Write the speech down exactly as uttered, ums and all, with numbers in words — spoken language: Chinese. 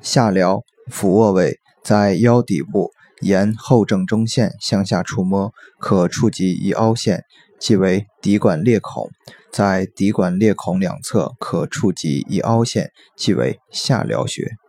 下髎，俯卧位，在腰底部，沿后正中线向下触摸，可触及一凹陷，即为骶管裂孔；在骶管裂孔两侧可触及一凹陷，即为下髎穴。